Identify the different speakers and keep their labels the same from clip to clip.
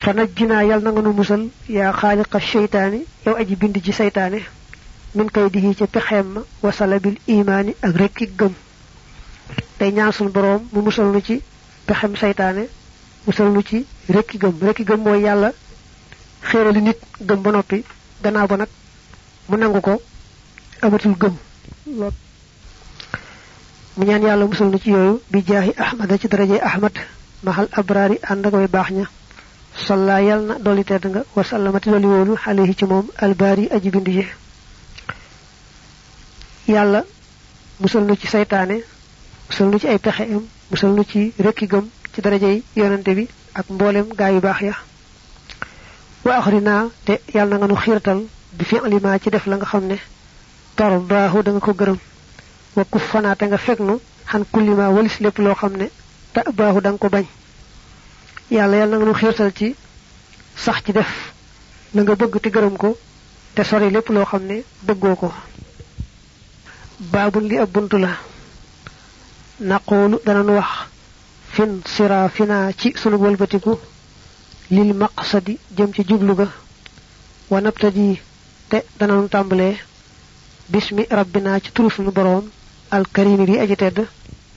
Speaker 1: fa najjinaa yal na nga nu musal yaa xaaliqa sheytaani yow aji bind ci seytaane min kay dihi ci pexeem ma wasala bil imaani ak rekki gëm tey ñaan suñu boroom mu musal nu ci pexem seytaane musal nu ci rekki gëm mooy yàlla xéerali nit gëm ba noppi gannaaw ba nag mu nangu ko amatul gëm mu ñaan yàlla musal nu ci yooyu bi jaahi ahmada ci daraje ahmad mahal abraari ànd ak way baax ña salla yal na dolli tedd nga wasallamati dolli wóolu alayhi ci moom albaari aji bind ji yàlla musal nu ci seytaane musal nu ci ay pexeem musal nu ci rekki gëm ci darajey yonante bi ak mboolem gaa yu baax ya wa axrina te yàlla na nga nu xiirtal bi fi alima ci def la nga xam ne tardaahu da nga ko gërëm wa kuffanaa te nga fekk nu xan kullima walis lépp loo xam ne ta baahu da nga ko bañ yàlla na nga nu xiirtal ci sax ci def la nga bëgg te gërëm ko te sori lépp loo xam ne bëggoo ko baabun li ab buntu la naqoolu danañu wax fin sira fina ci sunu wëlbatiku lil maqsadi jëm ci jublu ga wa nabtadi te danañu tàmbalee bismi rabbina ci turu sunu boroom alkarimi bi aji tedd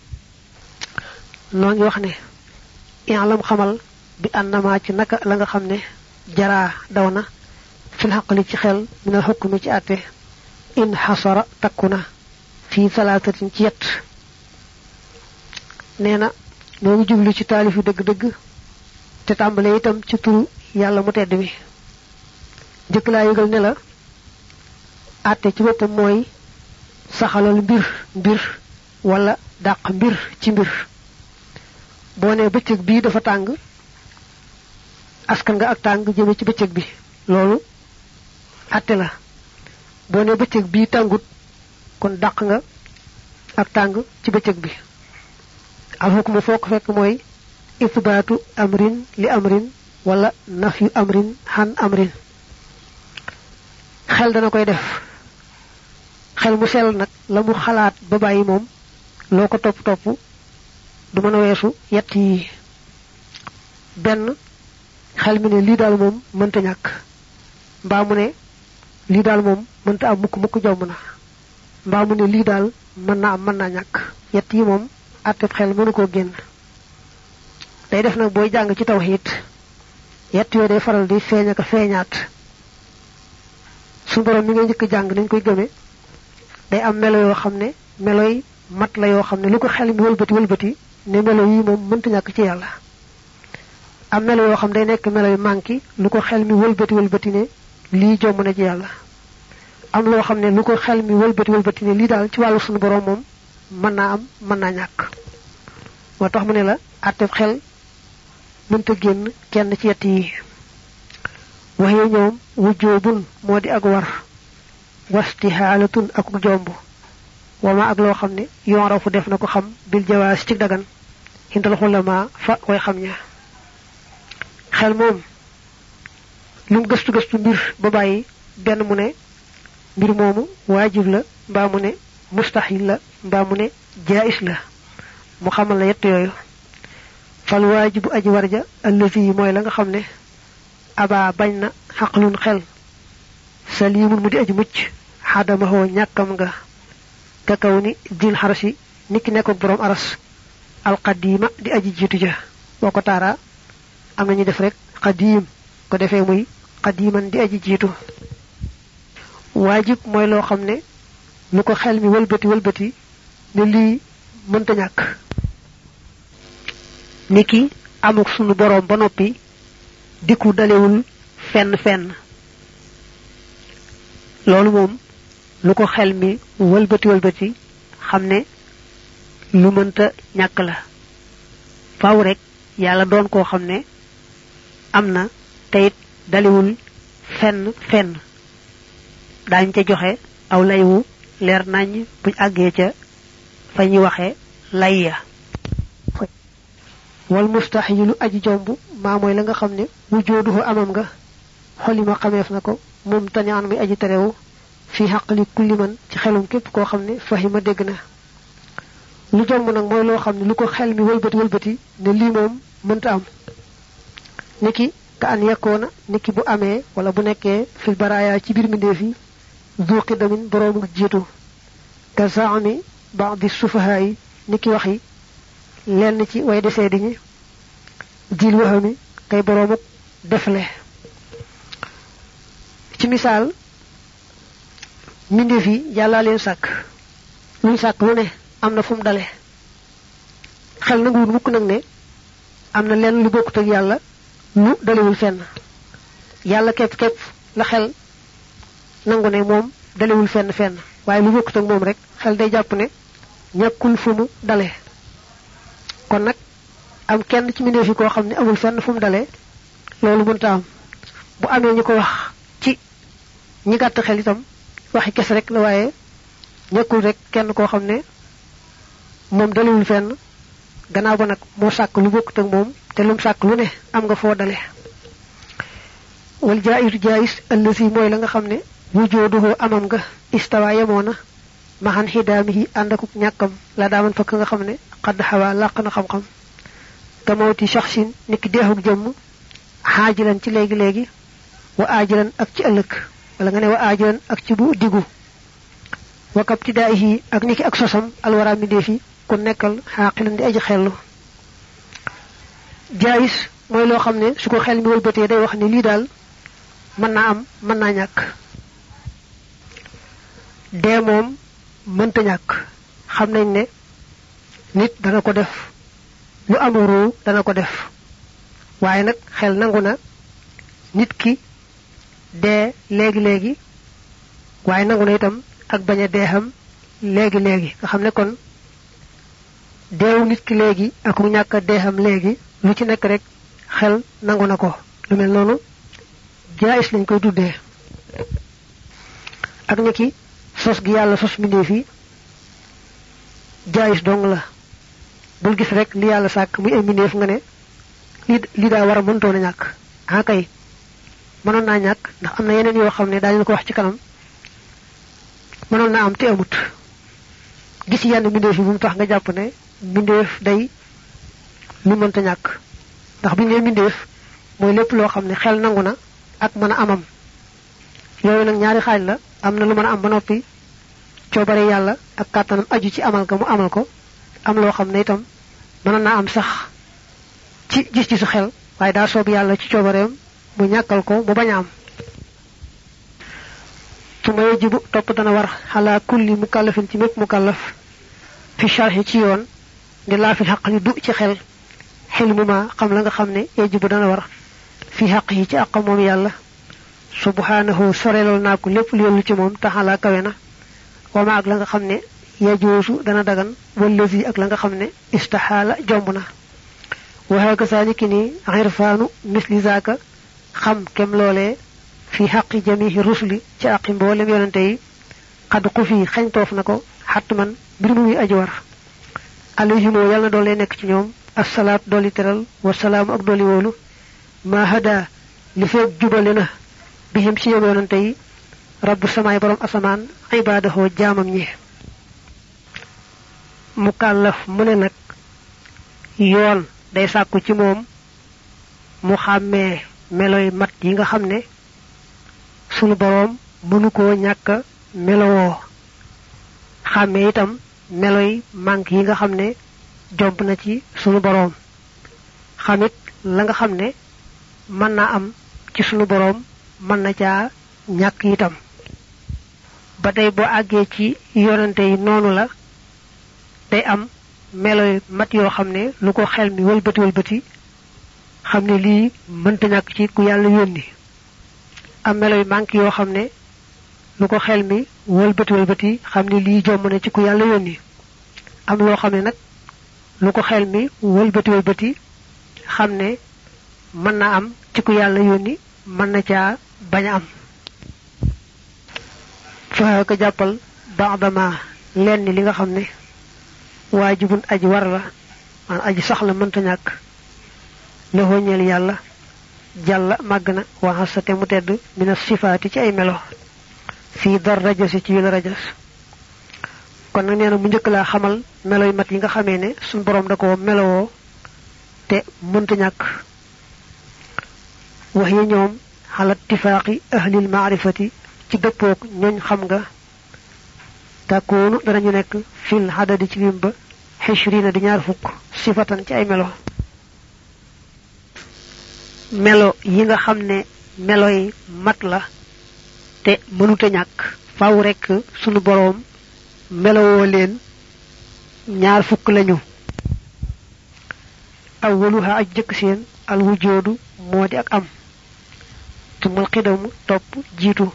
Speaker 1: noo ngi wax ne i'lam xamal bi annama ci naka la nga xam ne jaraa daw na fil xaqli ci xel minal xukmi ci àtte in xasara takku na fii salaatatin ci yett nee na noo ngi jublu ci taalif yu dëgg-dëgg te tàmbale itam ci turu yàlla mu tedd bi njëkk laa yëgal ne la àtte ci boppam mooy saxalal mbir wala dàq mbir ci mbir boo ne bëccëg bii dafa tàng askan nga ak tàng jëme ci bëccëg bi loolu àtte la boo ne bëccëg bii tàngut kon dàq nga ak tàng ci bëccëg bi al hukmu foo ko fekk mooy isbaatu amrin li amrin wala nafyu amrin xan amrin xel dana koy def xel mu sell nag la mu xalaat ba bàyyi moom loo ko topp du mën a weesu yett yi benn xel mi ne lii daal moom mënta ñàkk mbaa mu ne lii daal moom mënta am mukk jaww na mbaa mu ne lii daal mën naa ñàkk yett yi moom àtteb xel mënu koo génn day def nag booy jàng ci tawhiid yett yooyu day faral di feeñ ak feeñaat su borom mi ngay njëkk jàng nañ koy gëme day am melo yoo xam ne meloy mat la yoo xam ne lu ko xel mi wëlbati ne melo yi moom mënta ñàkk ci yàlla am melo yoo xam day nekk melo yu manki lu ko xel mi wëlbati ne lii jomm na ci yàlla am loo xam ne lu ko xel mi wëlbati ne lii daal ci wàllu sunu borom moom mën naa am mën naa ñàkk moo tax mu ne la àtteb xel mënta génn kenn ci yett yi waxee ñoom wujjoobun moo di ak war wastihaalatun ak jomb wama ak loo xam ne yorafu def na ko xam bil jawaas ci dagan hindal xulama fa koy xam ña xel moom lu mu gëstu mbir ba bàyyi benn mu ne mbir moomu waajib la mbaa mu ne mustahil la mbaa mu ne jaais la mu xamal la yett yooyu fal waajibu aji warja allazi yi mooy la nga xam ne aba bañ na xaqlun xel salimun mu di aji mucc xadamahoo ñàkkam nga ka kaw ni dil xarasi niki nekk borom aras alqadima di aji jiitu ja boo ko taara am nañu def rek qadim ko defee muy qadiman di aji jiitu waajib mooy loo xam ne lu ko xel mi wëlbati ne lii mënta ñàkk niki amuk sunu borom ba noppi diku dalewul fenn loolu moom lu ko xel mi wëlbati xam ne lu mënta ñàkk la faaw rek yàlla doon koo xam ne am na teyit dalewul fenn daañ ca joxe aw lay wu leer nañ buñ àggee ca fa ñuy waxe lay ya wal mustahilu aji jomb maa mooy la nga xam ne wujooduhu amam nga xolima xameef na ko moom tañaan muy aji terewu fi xaqli kulli man ci xelum képp koo xam ne fahima dégg na lu jomb nag mooy loo xam ne lu ko xel mi wëlbati ne lii moom mënta am niki ka an yakuna niki bu amé wala bu nekké fil baraya ci bir mindé fi zu qidamin borom jitu ka saami ba'd sufahaay niki waxi lenn ci way déssé di ñi jil waxami kay borom defle ci misal mindé fi yalla leen sak lu sak lu ne amna fum dalé xel na nguur mukk nak ne amna lenn lu bokut ak yalla lu dalewul fenn yalla kep la xel nangu ne mom dalewul fenn waye lu bokut ak mom rek xel day japp ne ñakul fumu dalé kon nak am kenn ci mindé fi ko xamni amul fenn fumu dalé lolu mënta am bu amé ñiko wax ci ñi gatt xel itam waxi kess rek la waye ñakul rek kenn ko xamne mom dalewul fenn gannaaw ba nak mo sak lu bokut ak mom te lum sak lu ne am nga fo dalé wal jais allazi moy la nga xamne wujuduhu amam nga istawa yamona mahan hidamihi andakuk ñakam la daman fakk nga xamne qad hawa laqna xam-xam tamawti shakhsin niki deexuk jëm hajilan ci legi wa ajilan ak ci ëlëk wala nga ne wa ajilan ak ci bu digu wa kaptidaihi ak niki ak sosam alwara mi defi ku nekkal haqilan di aji xellu jais moy lo xamne su ko xel mi wëlbeuté day wax ni li dal man na am man na ñak dé mom mënta ñak xam nañ ne nit dana ko def lu amuru dana ko def waye nak xel nanguna nit ki dé légui waye nanguna itam ak baña déxam légui nga xamne kon déw nit ki légui ak mu ñaka déxam légui lu ci nek rek xel nanguna ko lu mel nonu jaayis lañ koy tuddé ak niki sos gi yalla sos mindé fi jaayis dong la bul gis rek li yalla sak muy mindé nga ne li da wara mën tona ñak ha kay mënon na ñak ndax amna yeneen yo xamne dañu ko wax ci kanam mënon na am té amut gis yenn mindé fi bu mu tax nga japp ne mindé day lu mënta ñak ndax bu ñu mindé moy lepp lo xamne xel nanguna ak mëna amam yoy nak ñaari xaj la amna lu mëna am ba nopi ciobare yalla ak katanam aju ci amal ga mu amal ko am lo xamne itam mëna na am sax ci gis ci su xel waye da soob yalla ci ciobareem mu ñakal ko mu baña am tuma yajibu top dana war ala kulli mukallafin ci mepp mukallaf fi sharhi ci yoon di la fi haqli du ci xel hilmu ma xam la nga xamne yajibu dana war fi haqi ci aqam mom yalla subhanahu sorelol nako lepp lu yollu ci mom tahala kawena wama ak la nga xamne yajusu dana dagan wallazi ak la nga xamne istahala jombuna wa haka salikini irfanu misli zaka xam kem lolé fi haqqi jami'i rusuli ci aqi mbolem yonante yi qad qufi xagn tof nako hatman bir muy aji war alayhi mo yalla dolé nek ci ñoom assalat doli teral wa salam ak doli wolu ma hada li fek jubalena bihim ci yonante yi rabbu samay borom asaman ibadahu jamam ñi mukallaf mu ne nak yoon day sakku ci mom mu xamé meloy mat yi nga xamné sunu borom mënu ko ñaka melowo xamé itam meloy mank yi nga xamné jomp na ci sunu borom xamit la nga xamné man na am ci sunu borom man na ca ñak itam batay bo agge ci yonante yi nonu la day am meloy mat yo xamne lu ko xel mi wëlbeuti xamne li mënta ñak ci ku yalla yoni am meloy mank yo xamne lu ko xel mi wëlbeuti xamne li jom na ci ku yalla yoni am lo xamne nak lu ko xel mi wëlbeuti xamne man na am ci ku yalla yoni man na ca baña am fa ka jappal ba'dama lenn li nga xamne wajibun aji war la man aji soxla mënta ñak le hoñel yalla jalla magna wa hasate mu tedd min sifati ci ay melo fi daraja ci yu rajas kon nak neena mu ñëk la xamal meloy mat yi nga xamé ne sun borom da ko melowo te mënta ñak wax yi ñoom ala ittifaaqi ahlil maarifati ci dëppook ñooñ xam nga takkoonu danañu nekk fil hadadi ci lim ba xishrina di ñaar fukk sifatan ci ay melo yi nga xam ne melo yi mat la te mënuta ñàkk faaw rekk sunu boroom melowoo leen ñaar fukk lañu awwaluha aj jëkk seen al wujoodu moo di ak am tumal xidamu topp jiitu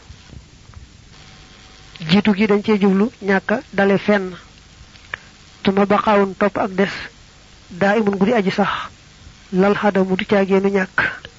Speaker 1: gi dañ cee jublu ñàkka dale fenn tuma baqaawun topp ak des daa imun gudi aji sax lal xadamu du caageenu ñàkk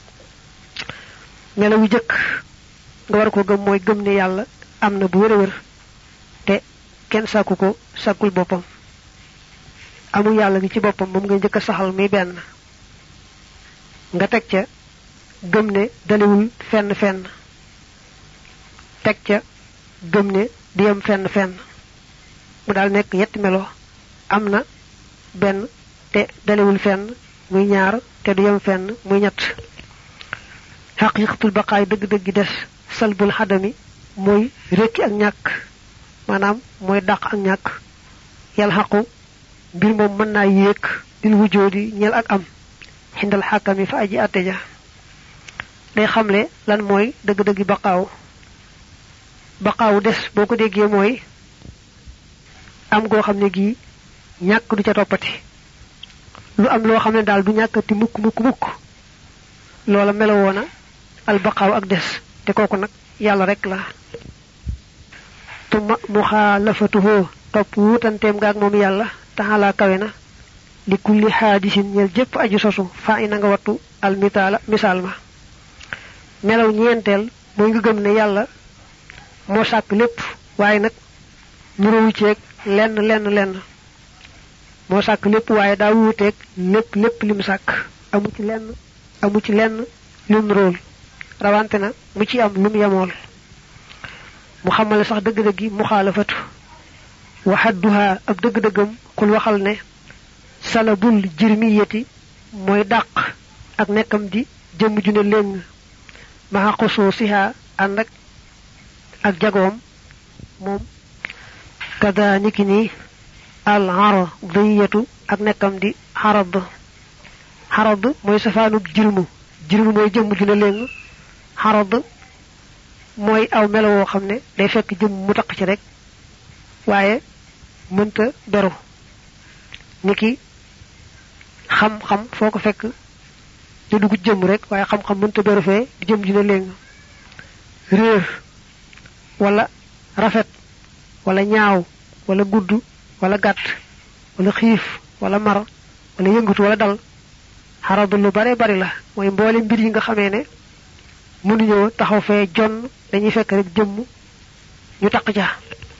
Speaker 1: melo wu jëkk nga war ko gëm mooy gëm ne yàlla am na bu wér te kenn sàkku ko sàkkul boppam amul yàlla gi ci boppam moom ngay njëkk a saxal muy benn nga teg ca gëm ne daliwul fenn teg ca gëm ne di yem fenn mu daal nekk yetti melo am na benn te daliwul fenn muy ñaar te du yem fenn muy ñett xaqiqatul baqaay dëgg-dëgg des salbul xadami mooy rékki ak ñàkk maanaam mooy dàq ak ñàkk yàlla xaqu mbir moom mën naa yéeg dil wujoodi ñeel ak am xindal xàkkami fa aji àtte ja day xamle lan mooy dëgg-dëggi baqaawu des boo ko déggee mooy am goo xam ne gii ñàkk du ca toppati lu am loo xam ne daal du ñàkkati mukk loola melowoona al baqaaw ak des te kooku nag yàlla rek la tuma muxaalafatuhu topp wuutanteem gaag moom yàlla taxalaa kawe na li kulli xaadisin ñel jëpp aju sosu faa ina nga wattu al misaal ma melaw ñeenteel mooy nga gëm ne yàlla moo sàkk lépp waaye nag nurowu ceeg lenn moo sàkk lépp waaye daa wuuteeg lépp lim sàkk amu ci lenn lum nuróol rawante na mu ci am lum yemool mu xamale sax dëgg-dëggi muxaalafatu waxadduha ab dëgg-dëggam xul waxal ne salabul jirmiyati mooy dàq ak nekkam di jëmm ju ne léng maxa xosoo siha ànd ak jagoom moom kada niki ni al aradiyatu ak nekkam di xarad mooy safaanub jirmu mooy jëmm ju ne léng xarad mooy aw melo woo xam ne day fekk jëmm mu taq ci rek waaye mënta beru niki xam-xam foo ko fekk di dugg jëmm rek waaye xam-xam mënta beru fee di jëmm ju ne léng réer wala rafet wala ñaaw wala gudd wala gàtt wala xiif wala mar wala yëngatu wala dal xaradu lu bare bari la mooy mboole mbir yi nga xamee ne mënuñoo taxaw fee jonn dañuy fekk rek jëmm ñu taq ca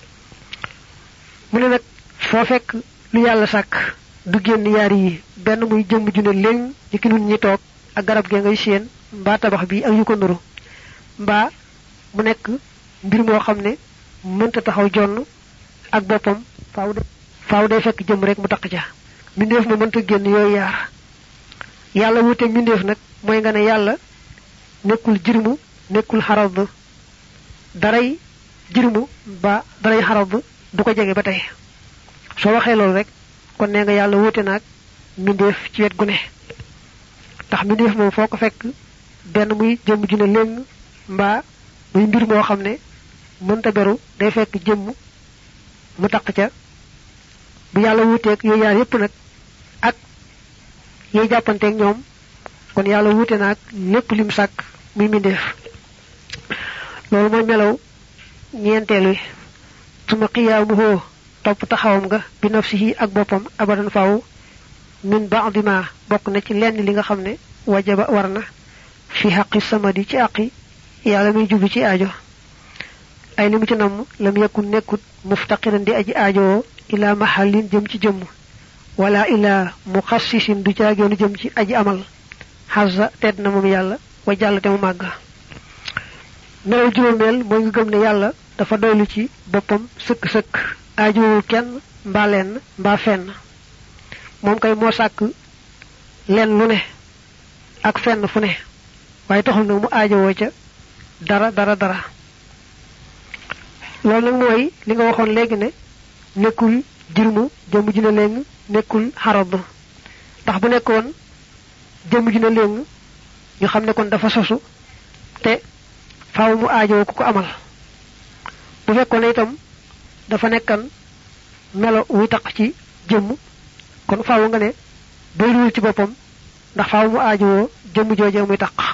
Speaker 1: mu ne nag foo fekk lu yàlla sàkk du génn yaar yi benn muy jëmm ju ne léng ci ki nun ñi toog ak garab gee ngay séen mbaa tabax bi ak yu ko nuru mbaa mu nekk mbir moo xam ne mënta taxaw jonn ak boppam faaw day fekk jëm rek mu taq ca mbindeef ma mënta génn yooyu yaar yàlla wuuteeg mbindeef nag mooy nga ne yàlla nekkul jirmu nekkul xarad daray jirmu ba daray xarad du ko jege ba tey soo waxee loolu rek kon nee nga yàlla wuute naag mbindeef ci wet gu ne ndax mbindeef moom foo ko fekk benn muy jëmm ju ne léng mbaa muy mbir moo xam ne mënta beru day fekk jëmm mu taq ca bu yàlla wuuteeg yooyu yaar yépp nag ak yooyu jàppanteeg ñoom kon yàlla wuute naag lépp lim sàkk muy mbindeef loolu mooy melaw ñeenteel wi suma qiyaamuhu topp taxawam nga bi nafsihi ak boppam abadan faaw min ba'di ma bokk na ci lenn li nga xam ne wajaba war na fi xaqi samadi ci àqi yàlla muy jublu ci aajo ay li mu ci namm lam yakun nekkut muftaqiran di aji aajowoo ila mahallin jëm ci jëmm wala ila muxassisin du caageenu jëm ci aji amal xasa tedd na moom yàlla wa jàll te mu màgg melaw juróomeel mooy nga gëm ne yàlla dafa doylu ci boppam sëkk-sëkk aajowul kenn mbaa lenn mbaa fenn moom kay moo sàkk lenn lu ne ak fenn fu ne waaye taxul nag mu aajowoo ca dara loolu nag mooy li nga waxoon léegi ne nekkul jirmu jëmm ji na léng nekkul xarab ndax bu nekkoon jëmm ji na léng ñu xam ne kon dafa sosu te faaw mu aajowoo ku ko amal bu fekkoon itam dafa nekkan melo wuy taq ci jëmm kon faaw nga ne doyluwul ci boppam ndax faaw mu aajowoo jëmm joojee muy taq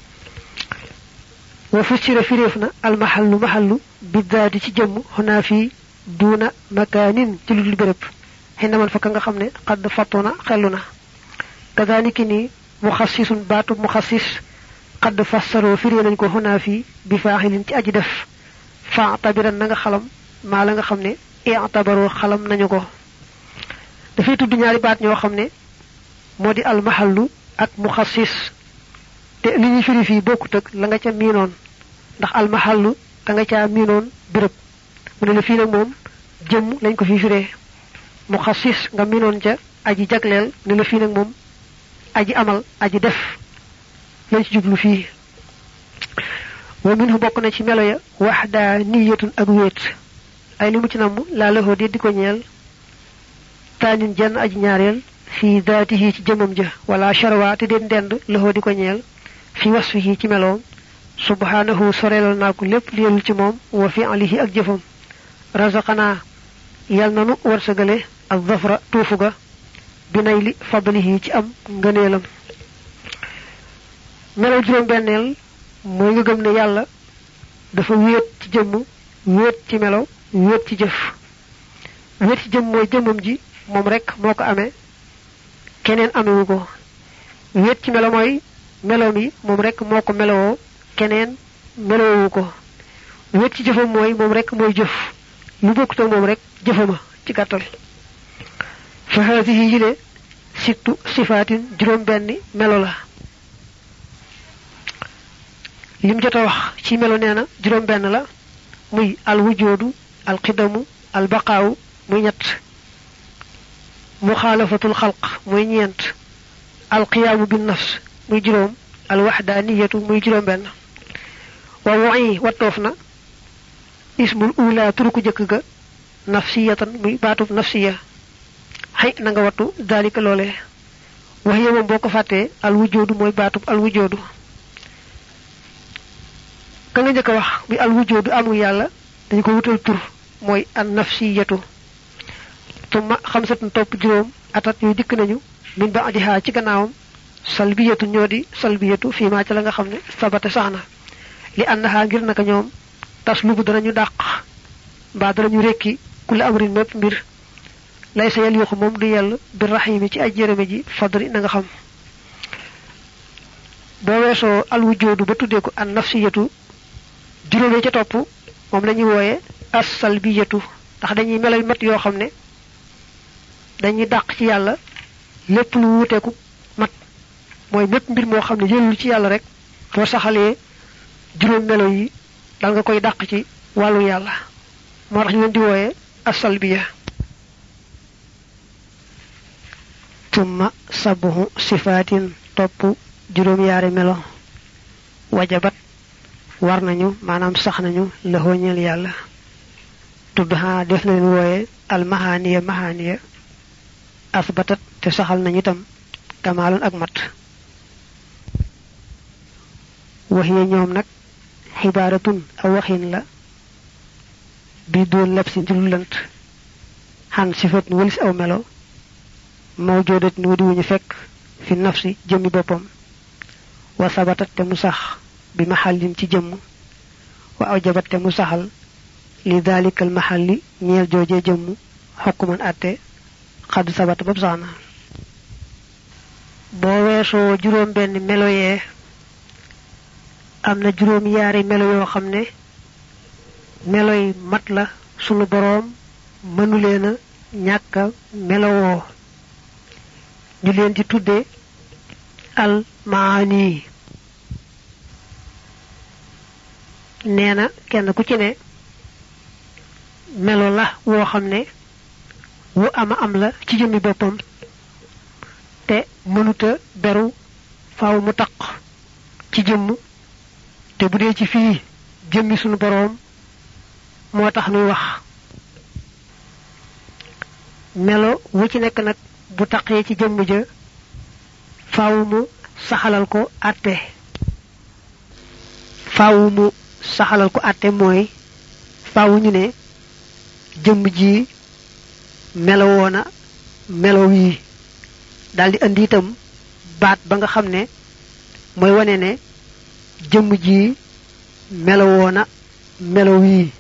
Speaker 1: wa fussira firefna al mahallu biddaati ci jëmm xunaa fii duuna makaanin ci ludul béréb xëy na man fa ka nga xam ne xadd fattuna xellu na kadaaliki ni muxassisun baatu muxassis xadd fassaroo firee nañ ko xunaa fii bi faaxilin ci aji def fa tabiran na nga xalam maa la nga xam ne i'tabaroo xalam nañu ko dafay tudd ñaari baat ñoo xam ne moo di al mahallu ak muxassis te li ñuy firi fii bokkut ak la nga ca miinoon ndax al mahallu da nga caa miinoon béréb mu ne la fii nag moom jëmm lañ ko fi firee muxassis nga miinoon ca aji jagleel ne la fii nag moom aji amal aji def lañ ci jublu fii wa minhu bokk na ci melo ya wahdaniyatun ak wéet ay li mu ci namm laa laxoo di ko ñeel taanin jenn aji ñaareel fi daatihi ci jëmam ja wala sharwa te den dend laxoo di ko ñeel fi wasfihi ci meloom subhanahu sorelal naa ko lépp li yelul ci moom wa fi'lihi ak jëfam razaqana yal nanu warsagale ak zafra tuufu ga binay li fadlihi ci am ngëneelam melaw juróom benneel mooy nga gëm ne yàlla dafa wéet ci jëmm wéet ci melaw wéet ci jëf wéet ci jëmm mooy jëmmam ji moom rek moo ko amee keneen amewu ko wéet ci melo mooy meloom yi moom rek moo ko melowoo keneen melowoo ko wéet ci jëfam mooy moom rek mooy jëf lu bokkut ak moom rek jëfama ci gàttal fa haadihi yile sittu sifaatin juróom benni melo la lim jot a wax ci melo nee na juróom benn la muy al wujoodu al qidamu al baqaawu muy ñett muxaalafatul xalq muy ñeent al qiyaamu bin nafs muy juróom al waxdaaniyatu muy juróom benn wa wu'i wattoof na ismul ula turuku jëkk ga nafsiyatan muy baatub nafsiya xëy na nga wattu daalika loolee wax yemam boo ko fàttee al wujoodu mooy baatub al wujoodu ka nga njëkk a wax bi al wujoodu amul yàlla dañ ko wutal tur mooy an nafsiyatu tumma xamsatun topp juróom atat yooyu dikk nañu min ba'diha ci gannaawam salbiyatu ñoo di salbiyatu fii maa ca la nga xam ne sabata sax na li annaha ngir naka ñoom tas lubu danañu dàq mbaa danañu rekki kula amrin mépp mbir lay sa yel yoxu moom du yell bi rahimi ci aj jërëme ji fadri na nga xam boo weesoo al wujoodu ba tuddee ko an nafsiyatu juróomee ca topp moom la ñuy wooye as salbiyatu ndax dañuy melal mat yoo xam ne dañuy dàq ci yàlla lépp lu wuteeku mat mooy mépp mbir moo xam ne yëlul ci yàlla rek boo saxalee juróom melo yi dal nga koy dàq ci wàllu yàlla moo tax ñu leen di wooye as-salbiya tumma sabuhu sifaatin topp juróom yaari melo wajabat war nañu maanaam sax nañu la ñeel yàlla tudd ha def na leen wooye al mahaniya asbatat te saxal nañu itam kamaalan ak mat waxiya ñoom nag xibaaratun aw waxin la bi doon leb si njullant xan sifat nu walis aw melo mawjoodat nu wadiwuñu fekk fi nafsi jëmmi boppam wa sabatat te mu sax bi maxallin ci jëmm wa awjabat te mu saxal li dalikal maxalli ñeel joojee jëmm xokkuman atte xadd sabata bopp sax na boo weesoo juróom benn melo yee am na juróom yaari melo yoo xam ne meloy mat la sunu boroom mënuleena ñàkka melowoo ñu leen di tudde al maani nee na kenn ku ci ne melo la woo xam ne wu ama am la ci jëmmi boppam te mënuta beru faaw mu taq ci jëmm te bu dee ci fii jëmmi sunu boroom moo tax nuy wax melo wu ci nekk nag bu taqee ci jëmm ja faaw mu saxalal ko àtte mooy faaw ñu ne jëmm ji melo woona melo wii daldi andi itam baat ba nga xam ne mooy wane ne jëmm ji melo woona melo wii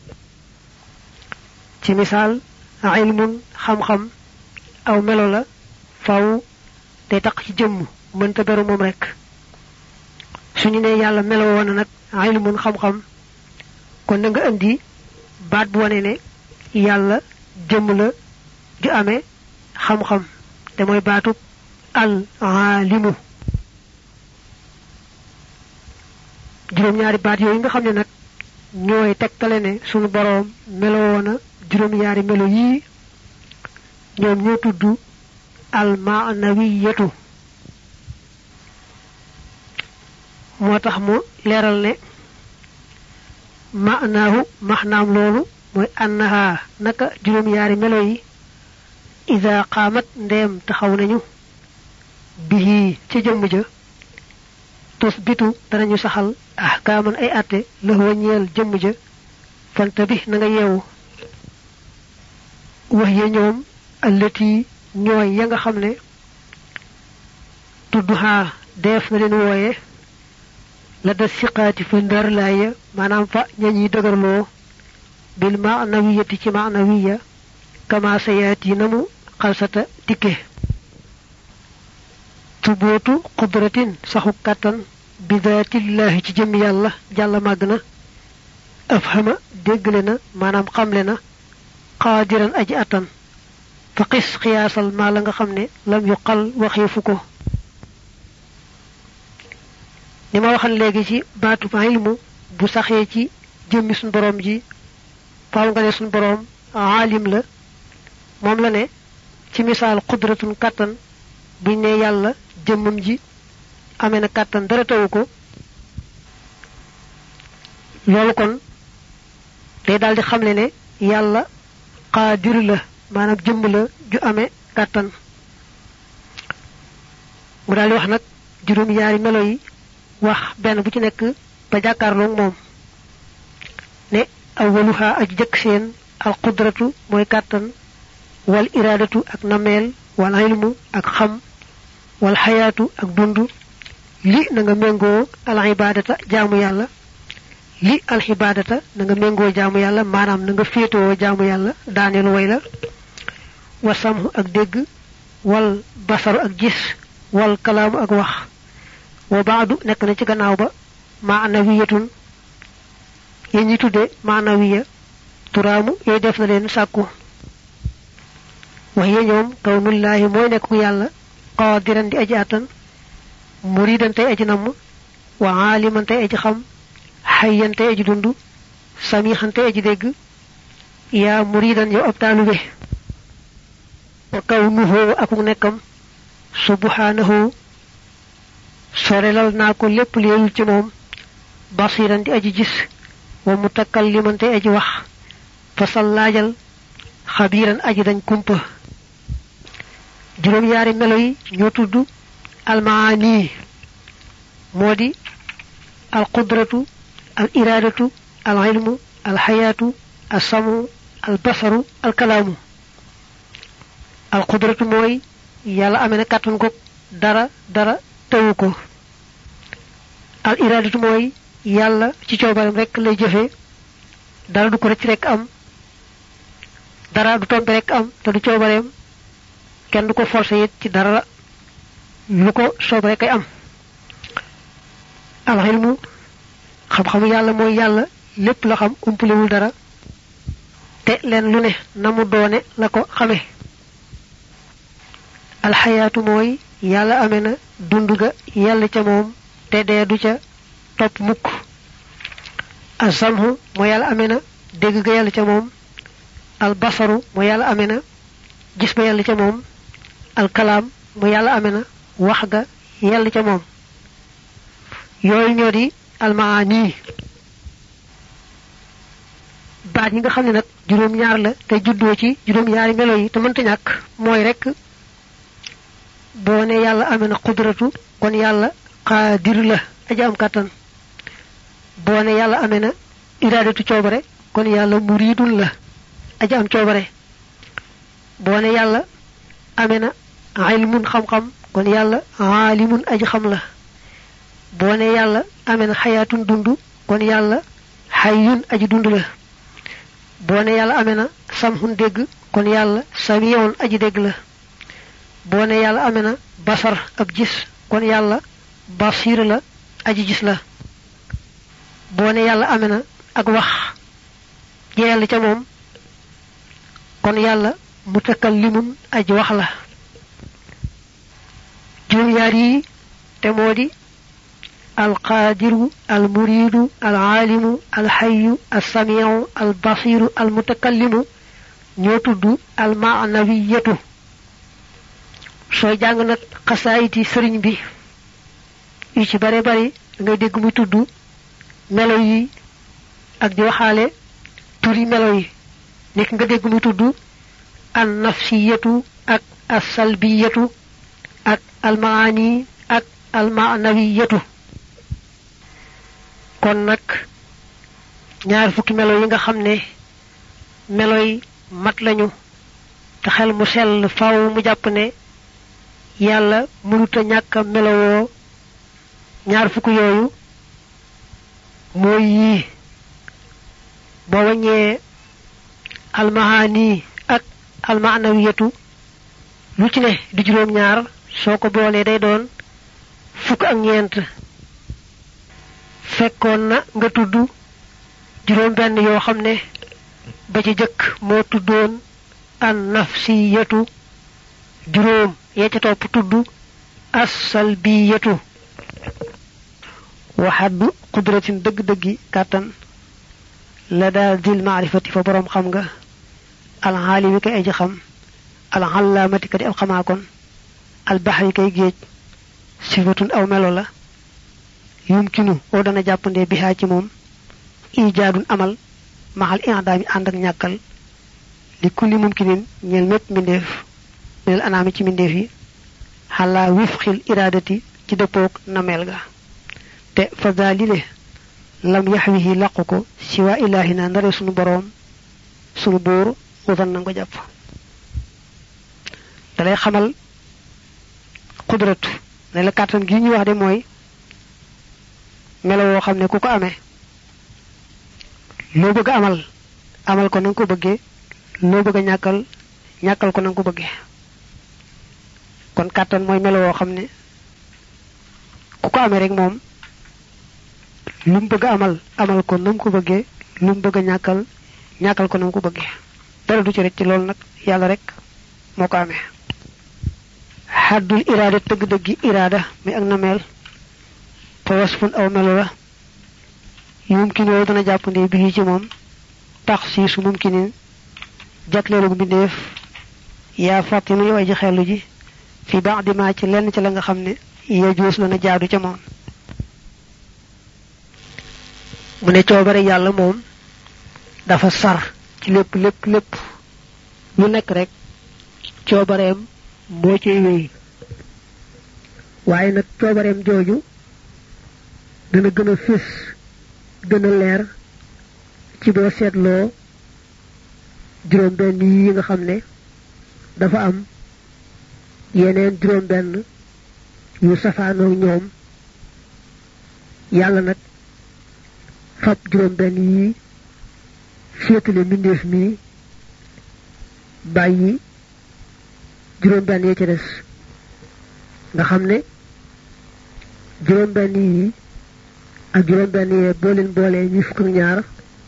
Speaker 1: ci misaal ilmun xam-xam aw melo la faaw day taq ci jëmm mënta beru moom rek suñu ne yàlla melo woona nag ilmun xam-xam kon na nga andi baat bu wane ne yàlla jëmm la ju amee xam-xam te mooy baatub al alimu juróom-ñaari baat yooyu nga xam ne nag ñooy tegtale ne sunu boroom melo woona juróom-ñaari melo yii ñoom ñoo tudd al maanawiyatu moo tax mu leeral ne maanaahu maxnaam loolu mooy annaha naka juróom-ñaari melo yi ida qaamat ndeem taxaw nañu bihi ci jëmm ja tusbitu danañu saxal ahkaaman ay atte la ñeel jëmm ja fanta bi na nga yeewu wax ya ñoom allati ñooy ya nga xam ne tudduhaa def na leen wooye la da siqaati fa ndar laaya maanaam fa ñañuy dëgërloo bil maanawiyati ci maanawiya kama sayaati namu xalsata dikke tubootu qudratin saxu kàttan bi daatillahi ci jëm yàlla jàlla màgg na afhama déggle na maanaam xamle na qaadiran aji attan fa qis xiyaasal maa la nga xam ne lam yuqal waxiifu ko ni ma waxal léegi ci baatu ilmu bu saxee ci jëmmi suñ boroom ji faaw nga ne suñ boroom aalim la moom la ne ci misaal qudratun kàttan buñ ne yàlla jëmmam ji amee na kàttan dara tawu ko loolu kon day daldi xamle ne yàlla qaadir la maanaam jëmm la ju amee kàttan mu daldi wax nag juróom-ñaari melo yi wax benn bu ci nekk ba jàkkaarloog moom ne awwaluha aji jëkk seen al qudratu mooy kàttan wal iraadatu ak nameel wal ilmu ak xam wal xayaatu ak dund li na nga méngoo al ibaadata jaamu yàlla li al ibaadata na nga méngoo jaamu yàlla maanaam na nga féetoo jaamu yàlla daaneelu way la wa samhu ak dégg wal basaru ak gis wal kalaamu ak wax wa baadu nekk na ci gannaaw ba maanawiyatun yéen ñi tudde maanawiya turaamu yooyu def na leen sàkku wax ye ñoom kawnullaahi mooy nekk ku yàlla qaadiran di aji àttan muridan tey aji namm wa aaliman tey aji xam xayyan tey aji dund samixan tey aji dégg yaa muridan yow ab taalube wa kawnuhu akuk nekkam subhanahu sorelal naa ko lépp leelul ci moom basiran di aji gis wa mutakalliman tey aji wax fasal laajal xabiiran aji dañ kumpa juróom-ñaari melo yi ñoo tudd almaani moo di al qudratu al iraadatu al ilmu al xayaatu al samu al basaru al kalaamu al qudratu mooy yàlla amee na kàttan ko dara tawu ko al iraadatu mooy yàlla ci coobaram rekk lay jëfe dara du ko rëcc rekk am dara du tombe rekk am te du coobareem kenn du ko forcé it ci dara lu ko soob rekk ay am al ilmu xam-xamu yàlla mooy yàlla lépp la xam umpulewul dara te leen lu ne na mu doone la ko xame alxayaatu mooy yàlla amee na dund ga yàlla ca moom te dee du ca topp mukk asamhu mooy yàlla amee na dégg ga yàlla ca moom albasaru mooy yàlla amee na gis ba yàlla ca moom alkalaam mooy yàlla amee na wax ga yàlla ca moom yooyu ñoo di almaani. baat yi nga xam ne nag juróom-ñaar la te juddoo ci juróom-ñaari melo yi te mënta ñàkk mooy rek boo ne yàlla amee na qudratu kon yàlla qaadir la aja am kàttan boo ne yàlla amee na iraadatu coobare kon yàlla muridun la aja am coobare boo ne yàlla amee na ilmun xam-xam kon yàlla aalimun aji xam la boo ne yàlla amee na xayaatun dund kon yàlla xayyun aji dund la boo ne yàlla amee na samhun dégg kon yàlla samiyoon aji dégg la boo ne yàlla amee na basar ab gis kon yàlla basir la aji gis la boo ne yàlla amee na ak wax jeel ca moom kon yàlla mutakallimun aji wax la juróom-ñaar yi te moo di alqaadiru almuridu alaalimu alxayu alsamiu albasiru almutakallimu ñoo tudd almaanawiyatu sooy jàng nag xasaayiti sëriñ bi yu ci bare bari ngay dégg muy tudd melo yi ak di waxaale turi melo yi nekk nga dégg muy tudd an nafsiyatu ak asalbiyatu ak almaani ak almaanawiyatu kon nag ñaar fukki melo yi nga xam ne melo yi mat lañu te xel mu sell faaw mu jàpp ne yàlla mënuta ñàkk a melowoo ñaar fukki yooyu mooy yii boo waññee almaani ak almaanawiyatu lu ci ne di juróom-ñaar soo ko boolee day doon fukk ak ñeent fekkoon na nga tudd juróom benn yoo xam ne ba ci jëkk moo tuddoon an nafsiyatu juróom yee ca topp tudd as-salbiyatu waxaddu qudratin dëgg-dëggi kàttan la daa dil maarifati fa boroom xam nga alxaalimi kay aji xam alxallaamati ka di ab xamaakon albaxri kay géej sifatun aw melo la yumkinu oo dana jàppandee bihaa ci moom ijaadun amal maxal i'daami ànd ak ñàkkal li kulli mumkinin ñeel mépp mbindeef minal anaami ci mbindeef yi xalaa wifxil iraadati ci dëppoog nameel ga te fa daalile lam yaxwihi làqu ko siwaa ilaahina ndare sunu boroom sunu buur udan na nga ko jàpp dalay xamal qudratu ne la kàttan gi ñuy wax de mooy melo woo xam ne ku ko amee loo bëgg amal ko na nga ko bëggee loo bëgg a ñàkkal ko na nga ko bëggee kon kàttan mooy melo woo xam ne ku ko amee rek moom lu mu bëgg a amal ko na mu ko bëggee lu mu bëgg a ñàkkal ko na mu ko bëggee dara du ci rek ci loolu nag yàlla rek moo ko amee xaddul iraada dëgg-dëggi iraada mi ak nameel fa wasfun aw melo la mumkin woo dana jàppandee bi ci moom tax si su mumkinin jagleelu mbindeef yaa fàttinu yow aji xellu ji fi baax di maa ci lenn ci la nga xam ne yajuus la na jaadu ca moom mu ne coobare yàlla moom dafa sar ci lépp lu nekk rek coobareem moo ciy wéy waaye nag coobareem jooju dana gën a fés gën a leer ci boo seetloo juróom benn yi nga xam ne dafa am yeneen juróom benn yu safaanoo ñoom yàlla nag fab juróom benn yi féetale mbindeef mi bàyyi juróom benn ya ca des nga xam ne juróom benn yi ak juróom benn yee boo leen boolee ñuy fukk ak ñaar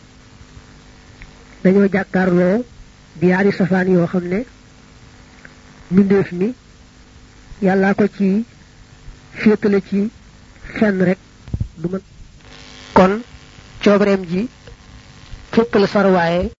Speaker 1: dañoo jàkkaarloo di yaari safaan yoo xam ne mbindeef mi yàllaa ko ci féetale ci fenn rek du mën kon coobareem ji fépp la sarwaaye